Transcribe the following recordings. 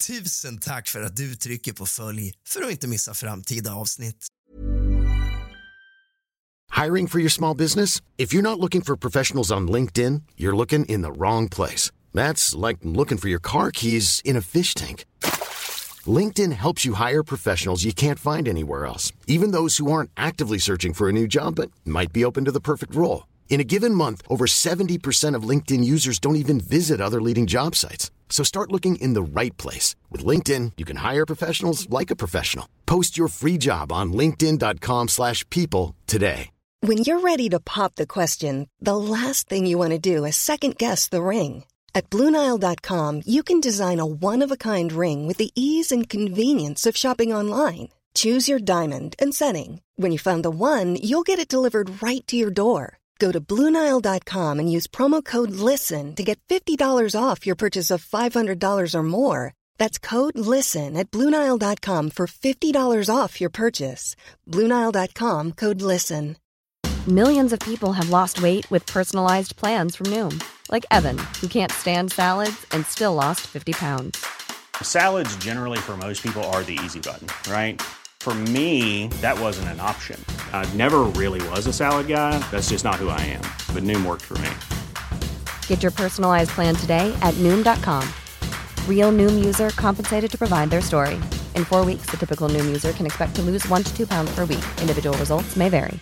Tusen tack för att du trycker på följ för att inte missa framtida avsnitt. Hiring for your small business? If you're not looking for professionals on LinkedIn, you're looking in the wrong place. That's like looking for your car keys in a fish tank. LinkedIn helps you hire professionals you can't find anywhere else, even those who aren't actively searching for a new job but might be open to the perfect role. In a given month, over 70% of LinkedIn users don't even visit other leading job sites. So start looking in the right place. With LinkedIn, you can hire professionals like a professional. Post your free job on linkedin.com/people today. When you're ready to pop the question, the last thing you want to do is second-guess the ring. At BlueNile.com, you can design a one-of-a-kind ring with the ease and convenience of shopping online. Choose your diamond and setting. When you find the one, you'll get it delivered right to your door. Go to BlueNile.com and use promo code LISTEN to get $50 off your purchase of $500 or more. That's code LISTEN at BlueNile.com for $50 off your purchase. BlueNile.com, code LISTEN. Millions of people have lost weight with personalized plans from Noom. Like Evan, who can't stand salads and still lost 50 pounds. Salads generally for most people are the easy button, right? For me, that wasn't an option. I never really was a salad guy. That's just not who I am. But Noom worked for me. Get your personalized plan today at Noom.com. Real Noom user compensated to provide their story. In 4 weeks, the typical Noom user can expect to lose 1 to 2 pounds per week. Individual results may vary.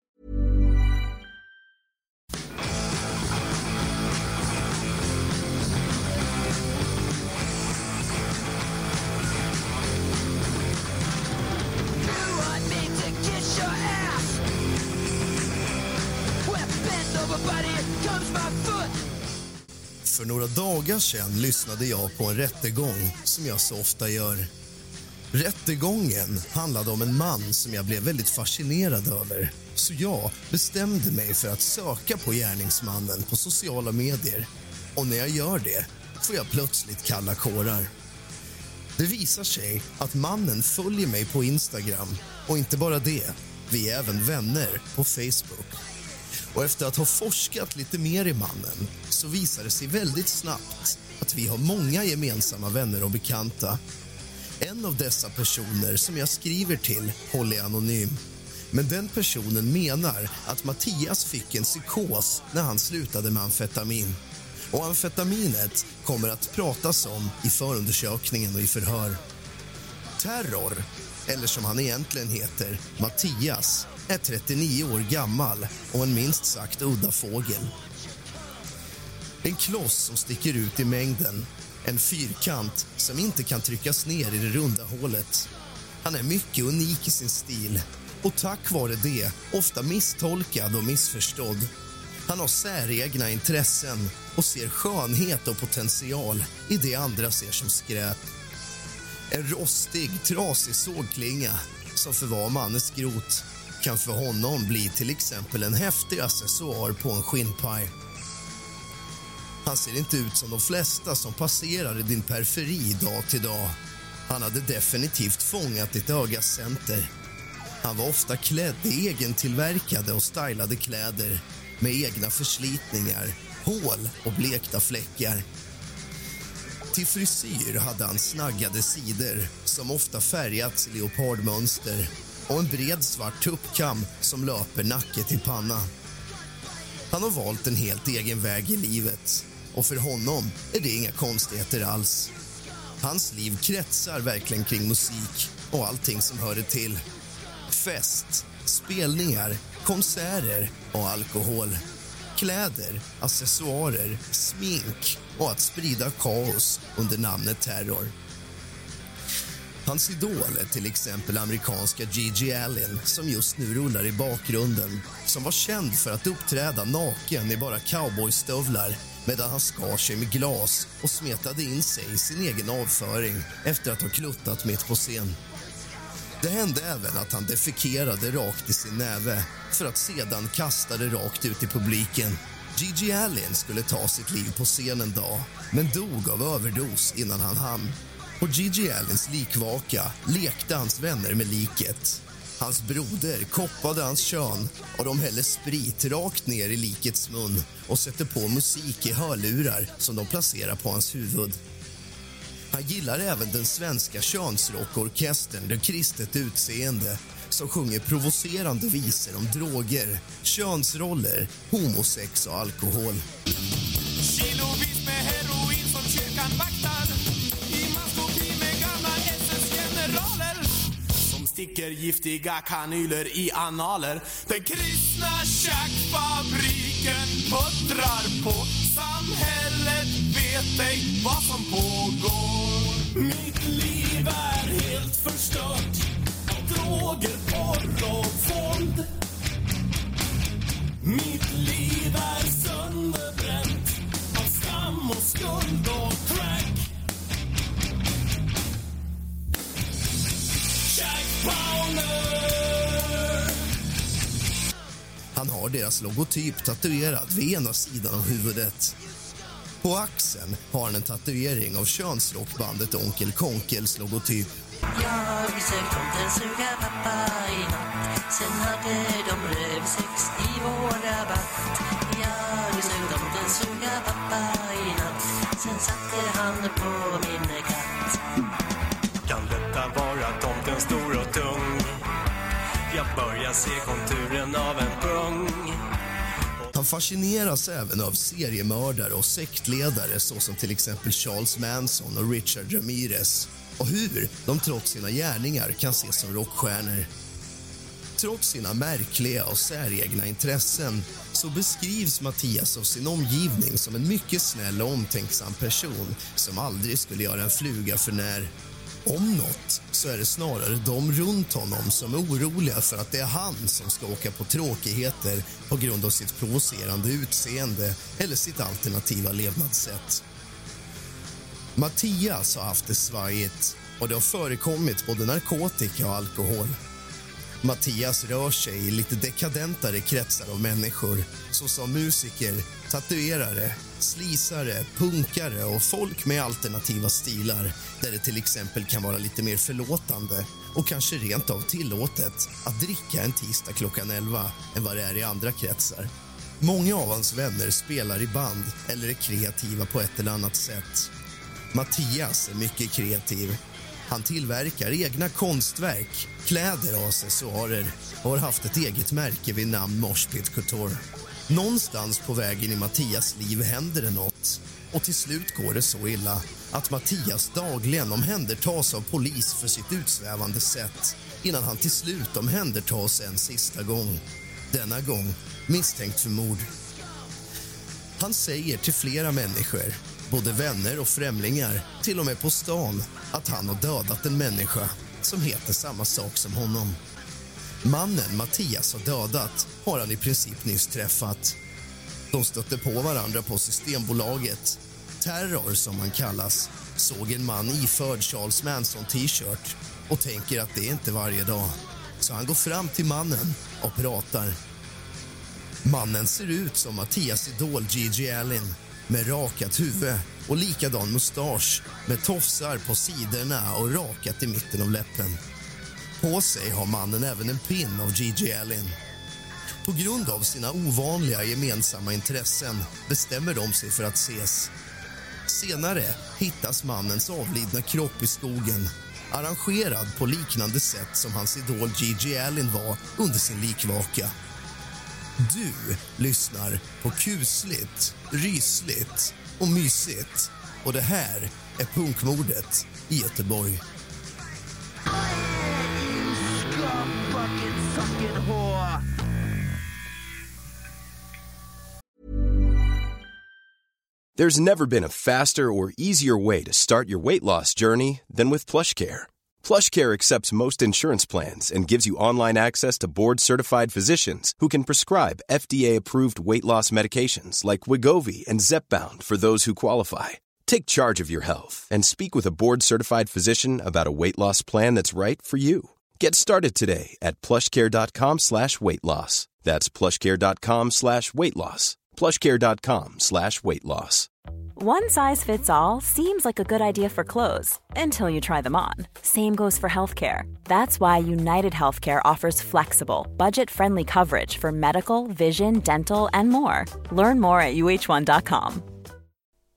För några dagar sedan lyssnade jag på en rättegång som jag så ofta gör. Rättegången handlade om en man som jag blev väldigt fascinerad över. Så jag bestämde mig för att söka på gärningsmannen på sociala medier. Och när jag gör det får jag plötsligt kalla kårar. Det visar sig att mannen följer mig på Instagram. Och inte bara det, vi är även vänner på Facebook. Och efter att ha forskat lite mer i mannen så visar det sig väldigt snabbt att vi har många gemensamma vänner och bekanta. En av dessa personer som jag skriver till håller anonym. Men den personen menar att Mattias fick en psykos när han slutade med amfetamin. Och amfetaminet kommer att pratas om i förundersökningen och i förhör. Terror, eller som han egentligen heter, Mattias, är 39 år gammal och en minst sagt udda fågel. En kloss som sticker ut i mängden. En fyrkant som inte kan tryckas ner i det runda hålet. Han är mycket unik i sin stil och tack vare det ofta misstolkad och missförstådd. Han har säregna intressen och ser skönhet och potential i det andra ser som skräp. En rostig, trasig sågklinga som för var man är skrot kan för honom bli till exempel en häftig accessoar på en skinnpaj. Han ser inte ut som de flesta som passerar i din periferi dag till dag. Han hade definitivt fångat ditt ögas center. Han var ofta klädd i egentillverkade och stylade kläder med egna förslitningar, hål och blekta fläckar. Till frisyr hade han snaggade sidor som ofta färgats i leopardmönster och en bred svart tuppkam som löper nacke till panna. Han har valt en helt egen väg i livet och för honom är det inga konstigheter alls. Hans liv kretsar verkligen kring musik och allting som hör det till. Fest, spelningar, konserter och alkohol. Kläder, accessoarer, smink och att sprida kaos under namnet terror. Hans idol är till exempel amerikanska Gigi Allen som just nu rullar i bakgrunden, som var känd för att uppträda naken i bara cowboystövlar medan han skar sig med glas och smetade in sig i sin egen avföring efter att ha kluttat mitt på scen. Det hände även att han defekerade rakt i sin näve för att sedan kasta det rakt ut i publiken. Gigi Allen skulle ta sitt liv på scen en dag, men dog av överdos innan han hann. På Gigi Allens likvaka lekte hans vänner med liket. Hans broder koppade hans kön och de häller sprit rakt ner i likets mun och sätter på musik i hörlurar som de placerar på hans huvud. Han gillar även den svenska könsrockorkestern Det kristet utseende som sjunger provocerande visor om droger, könsroller, homosex och alkohol. Kilovis med heroin som kyrkan vaktar i maskopi med gamla SS-generaler som sticker giftiga kanyler i analer. Den kristna tjackfabriken puttrar på. Samhället vet ej vad som pågår. Mitt liv är helt förstört av droger, porr och våld. Mitt liv är sönderbränt av skam och skuld och crack. Jack Browner. Han har deras logotyp tatuerad vid ena sidan av huvudet. På axeln har han en tatuering av könsrockbandet Onkel Konkels logotyp. Jag besökt tomten suga pappa i natt. Sen hade de rövsex i vår rabatt. Jag besökt tomten suga pappa i natt. Sen satte han på min katt. Kan detta vara tomten stor och tung? Jag börjar se konturen av en pung. Han fascineras även av seriemördare och sektledare såsom till exempel Charles Manson och Richard Ramirez och hur de trots sina gärningar kan ses som rockstjärnor. Trots sina märkliga och säregna intressen så beskrivs Mattias av sin omgivning som en mycket snäll och omtänksam person som aldrig skulle göra en fluga för när. Om något så är det snarare de runt honom som är oroliga för att det är han som ska åka på tråkigheter på grund av sitt provocerande utseende eller sitt alternativa levnadssätt. Mattias har haft det svajigt och det har förekommit både narkotika och alkohol. Mattias rör sig i lite dekadentare kretsar av människor såsom musiker, tatuerare, slisare, punkare och folk med alternativa stilar där det till exempel kan vara lite mer förlåtande och kanske rent av tillåtet att dricka en tisdag klockan 11 än vad det är i andra kretsar. Många av hans vänner spelar i band eller är kreativa på ett eller annat sätt. Mattias är mycket kreativ. Han tillverkar egna konstverk, kläder och accessoarer och har haft ett eget märke vid namn Mosh Pit Couture. Någonstans på vägen i Mattias liv händer det något och till slut går det så illa att Mattias dagligen omhändertas av polis för sitt utsvävande sätt innan han till slut omhändertas en sista gång. Denna gång misstänkt för mord. Han säger till flera människor, både vänner och främlingar, till och med på stan, att han har dödat en människa som heter samma sak som honom. Mannen Mattias har dödat har han i princip nyss träffat. De stötte på varandra på Systembolaget. Terror, som han kallas, såg en man iförd Charles Manson t-shirt och tänker att det är inte varje dag. Så han går fram till mannen och pratar. Mannen ser ut som Mattias idol Gigi Allen med rakat huvud och likadan mustasch med tofsar på sidorna och rakat i mitten av läppen. På sig har mannen även en pin av Gigi Allen. På grund av sina ovanliga gemensamma intressen bestämmer de sig för att ses. Senare hittas mannens avlidna kropp i skogen, arrangerad på liknande sätt som hans idol Gigi Allen var under sin likvaka. Du lyssnar på kusligt, rysligt och mysigt. Och det här är punkmordet i Göteborg. There's never been a faster or easier way to start your weight loss journey than with PlushCare. PlushCare accepts most insurance plans and gives you online access to board-certified physicians who can prescribe FDA-approved weight loss medications like Wegovy and Zepbound for those who qualify. Take charge of your health and speak with a board-certified physician about a weight loss plan that's right for you. Get started today at plushcare.com/weightloss. That's plushcare.com/weightloss. plushcare.com/weightloss. One size fits all seems like a good idea for clothes until you try them on. Same goes for healthcare. That's why United Healthcare offers flexible, budget-friendly coverage for medical, vision, dental, and more. Learn more at uh1.com.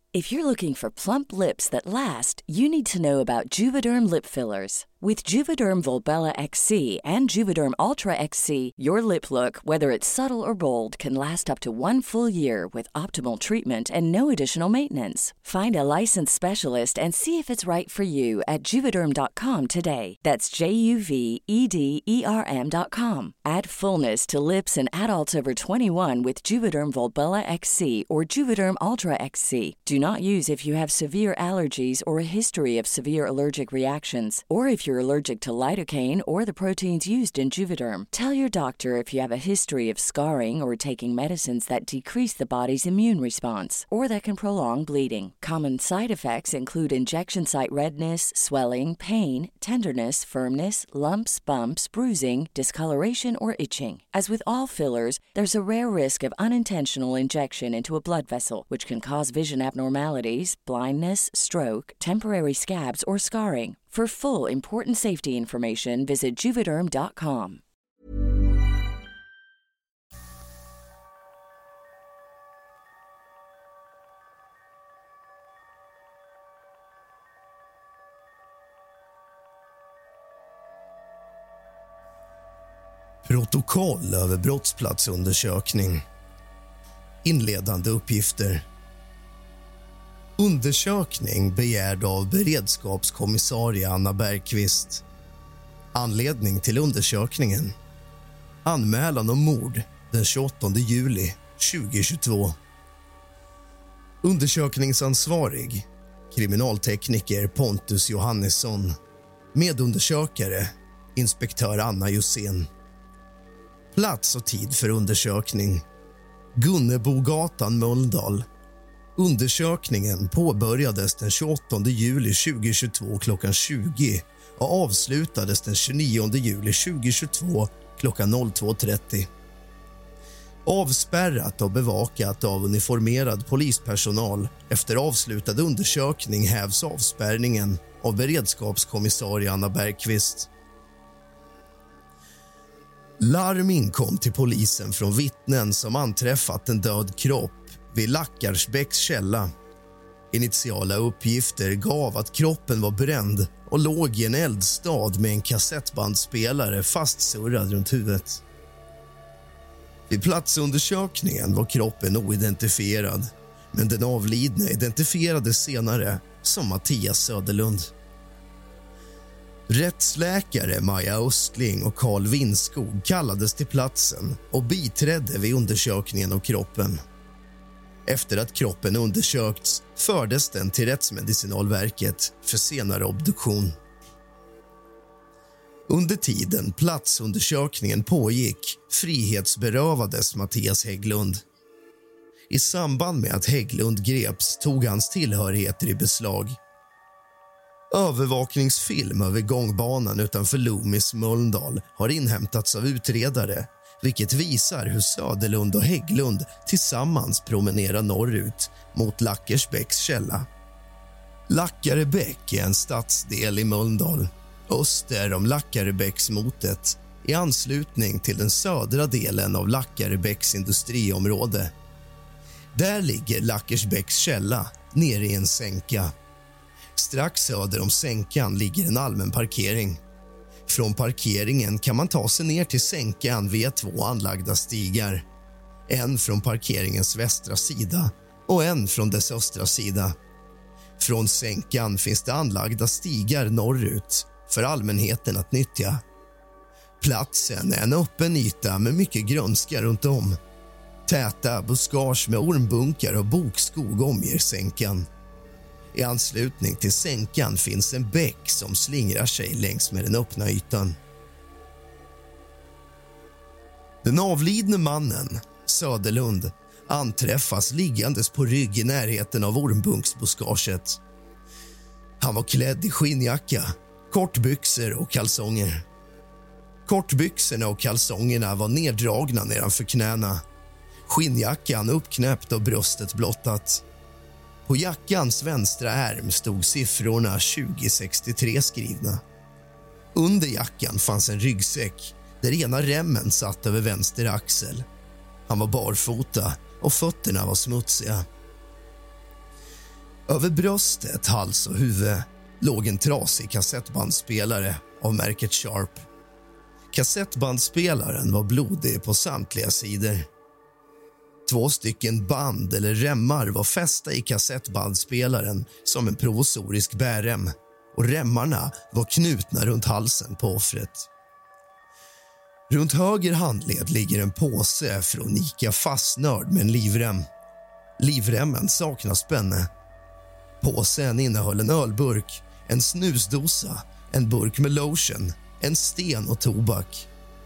If you're looking for plump lips that last, you need to know about Juvederm lip fillers. With Juvederm Volbella XC and Juvederm Ultra XC, your lip look, whether it's subtle or bold, can last up to 1 full year with optimal treatment and no additional maintenance. Find a licensed specialist and see if it's right for you at Juvederm.com today. That's JUVEDERM.com. Add fullness to lips in adults over 21 with Juvederm Volbella XC or Juvederm Ultra XC. Do not use if you have severe allergies or a history of severe allergic reactions, or if you're allergic to lidocaine or the proteins used in Juvederm. Tell your doctor if you have a history of scarring or taking medicines that decrease the body's immune response or that can prolong bleeding. Common side effects include injection site redness, swelling, pain, tenderness, firmness, lumps, bumps, bruising, discoloration, or itching. As with all fillers, there's a rare risk of unintentional injection into a blood vessel, which can cause vision abnormalities, blindness, stroke, temporary scabs, or scarring. For full important safety information, visit Juvederm.com. Protokoll över brottsplatsundersökning. Inledande uppgifter. Undersökning begärd av beredskapskommissarie Anna Bergqvist. Anledning till undersökningen. Anmälan om mord den 28 juli 2022. Undersökningsansvarig. Kriminaltekniker Pontus Johannesson. Medundersökare. Inspektör Anna Jusén. Plats och tid för undersökning. Gunnebogatan, Mölndal. Undersökningen påbörjades den 28 juli 2022 klockan 20 och avslutades den 29 juli 2022 klockan 02.30. Avspärrat och bevakat av uniformerad polispersonal. Efter avslutad undersökning hävs avspärrningen av beredskapskommissarie Anna Bergqvist. Larm inkom till polisen från vittnen som anträffat en död kropp vid Lackarsbäcks källa. Initiala uppgifter gav att kroppen var bränd och låg i en eldstad med en kassettbandspelare fastsurrad runt huvudet. Vid platsundersökningen var kroppen oidentifierad, men den avlidne identifierades senare som Mattias Söderlund. Rättsläkare Maja Östling och Carl Winskog kallades till platsen och biträdde vid undersökningen av kroppen. Efter att kroppen undersökts fördes den till Rättsmedicinalverket för senare obduktion. Under tiden platsundersökningen pågick frihetsberövades Mattias Hägglund. I samband med att Hägglund greps tog hans tillhörigheter i beslag. Övervakningsfilm över gångbanan utanför Loomis, Mölndal har inhämtats av utredare, vilket visar hur Söderlund och Hägglund tillsammans promenerar norrut mot Lackarsbäcks källa. Lackarebäck är en stadsdel i Mölndal, öster om Lackarebäcksmotet, i anslutning till den södra delen av Lackarebäcks industriområde. Där ligger Lackarsbäcks källa nere i en sänka. Strax söder om sänkan ligger en allmän parkering. Från parkeringen kan man ta sig ner till sänkan via 2 anlagda stigar. En från parkeringens västra sida och en från dess östra sida. Från sänkan finns det anlagda stigar norrut för allmänheten att nyttja. Platsen är en öppen yta med mycket grönska runt om. Täta buskage med ormbunkar och bokskog omger sänkan. I anslutning till sänkan finns en bäck som slingrar sig längs med den öppna ytan. Den avlidne mannen, Söderlund, anträffas liggandes på rygg i närheten av ormbunksbuskaget. Han var klädd i skinnjacka, kortbyxor och kalsonger. Kortbyxorna och kalsongerna var neddragna nedanför knäna. Skinnjackan uppknäppt och bröstet blottat. På jackans vänstra ärm stod siffrorna 2063 skrivna. Under jackan fanns en ryggsäck där ena remmen satt över vänster axel. Han var barfota och fötterna var smutsiga. Över bröstet, hals och huvud låg en trasig kassettbandspelare av märket Sharp. Kassettbandspelaren var blodig på samtliga sidor. 2 stycken band eller remmar var fästa i kassettbandspelaren som en provisorisk bärrem, och remmarna var knutna runt halsen på offret. Runt höger handled ligger en påse från Ica Fastnörd med en livrem. Livremmen saknar spänne. Påsen innehöll en ölburk, en snusdosa, en burk med lotion, en sten och tobak.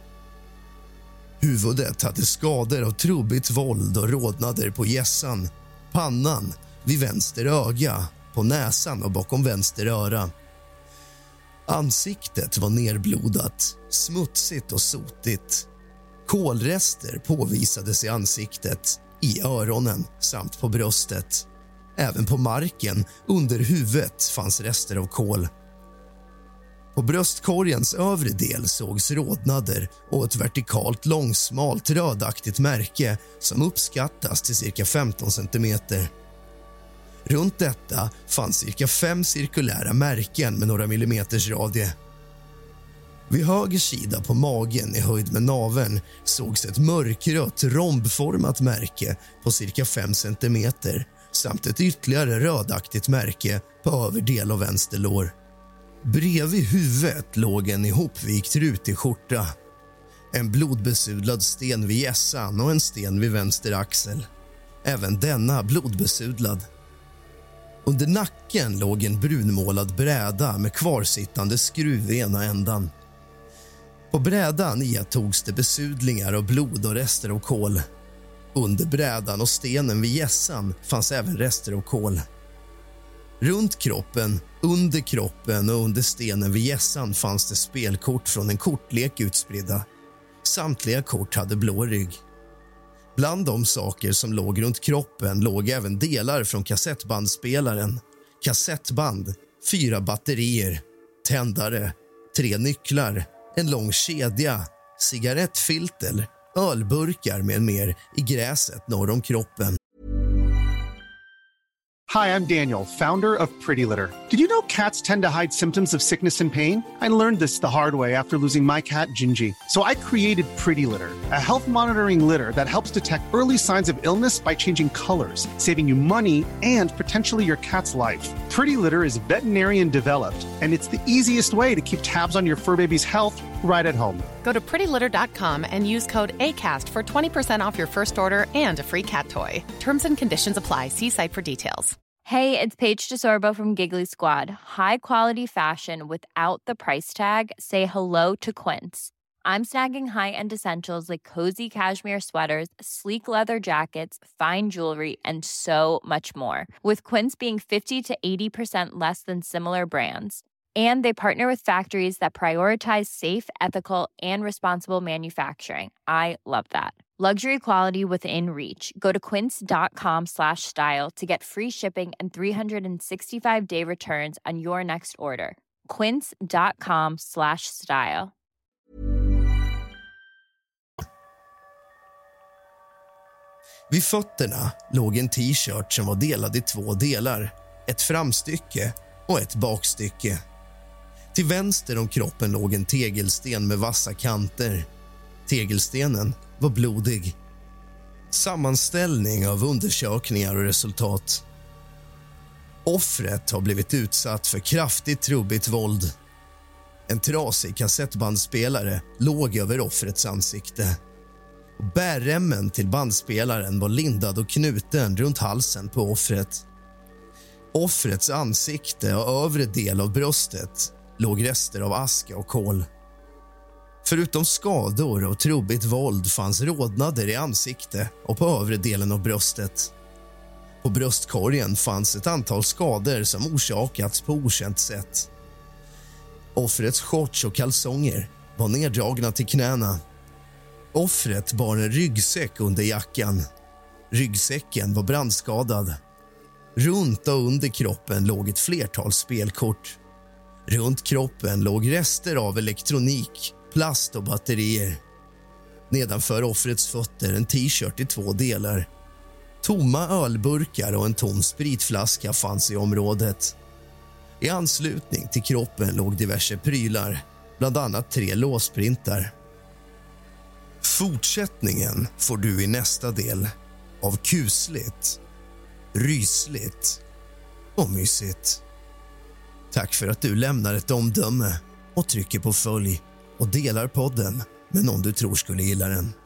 Huvudet hade skador av trubbigt våld och rodnader på hjässan, pannan, vid vänster öga, på näsan och bakom vänster öra. Ansiktet var nerblodat, smutsigt och sotigt. Kolrester påvisades i ansiktet, i öronen samt på bröstet. Även på marken under huvudet fanns rester av kol. På bröstkorgens övre del sågs rodnader och ett vertikalt långsmalt rödaktigt märke som uppskattas till cirka 15 centimeter. Runt detta fanns cirka 5 cirkulära märken med några millimeters radie. Vid höger sida på magen i höjd med naveln sågs ett mörkrött rombformat märke på cirka 5 centimeter samt ett ytterligare rödaktigt märke på överdel av vänster lår. Bredvid huvudet låg en ihopvikt rutig skjorta, en blodbesudlad sten vid hjässan och en sten vid vänster axel. Även denna blodbesudlad. Under nacken låg en brunmålad bräda med kvarsittande skruv i ena ändan. På brädan iaktogs det besudlingar av blod och rester av kol. Under brädan och stenen vid hjässan fanns även rester av kol. Runt kroppen, under kroppen och under stenen vid hjässan fanns det spelkort från en kortlek utspridda. Samtliga kort hade blå rygg. Bland de saker som låg runt kroppen låg även delar från kassettbandspelaren, kassettband, 4 batterier, tändare, 3 nycklar, en lång kedja, cigarettfilter, ölburkar med mer i gräset norr om kroppen. Hi, I'm Daniel, founder of Pretty Litter. Did you know cats tend to hide symptoms of sickness and pain? I learned this the hard way after losing my cat, Gingy. So I created Pretty Litter, a health monitoring litter that helps detect early signs of illness by changing colors, saving you money and potentially your cat's life. Pretty Litter is veterinarian developed, and it's the easiest way to keep tabs on your fur baby's health right at home. Go to prettylitter.com and use code ACAST for 20% off your first order and a free cat toy. Terms and conditions apply. See site for details. Hey, it's Paige DeSorbo from Giggly Squad. High quality fashion without the price tag. Say hello to Quince. I'm snagging high-end essentials like cozy cashmere sweaters, sleek leather jackets, fine jewelry, and so much more. With Quince being 50 to 80% less than similar brands. And they partner with factories that prioritize safe, ethical, and responsible manufacturing. I love that. Luxury quality within reach. Go to quince.com/style to get free shipping and 365-day returns on your next order. Quince.com/style. Vid fötterna låg en t-shirt som var delad i 2 delar. Ett framstycke och ett bakstycke. Till vänster om kroppen låg en tegelsten med vassa kanter. Tegelstenen var blodig. Sammanställning av undersökningar och resultat. Offret har blivit utsatt för kraftigt trubbigt våld. En trasig kassettbandspelare låg över offrets ansikte. Bärremmen till bandspelaren var lindad och knuten runt halsen på offret. Offrets ansikte och övre del av bröstet låg rester av aska och kol. Förutom skador och trubbigt våld fanns rodnader i ansikte och på övre delen av bröstet. På bröstkorgen fanns ett antal skador som orsakats på okänt sätt. Offrets shorts och kalsonger var neddragna till knäna. Offret bar en ryggsäck under jackan. Ryggsäcken var brandskadad. Runt och under kroppen låg ett flertal spelkort. Runt kroppen låg rester av elektronik, plast och batterier. Nedanför offrets fötter en t-shirt i 2 delar. Tomma ölburkar och en tom spritflaska fanns i området. I anslutning till kroppen låg diverse prylar, bland annat 3 låsprintar. Fortsättningen får du i nästa del av kusligt, rysligt och mysigt. Tack för att du lämnar ett omdöme och trycker på följ och delar podden med någon du tror skulle gilla den.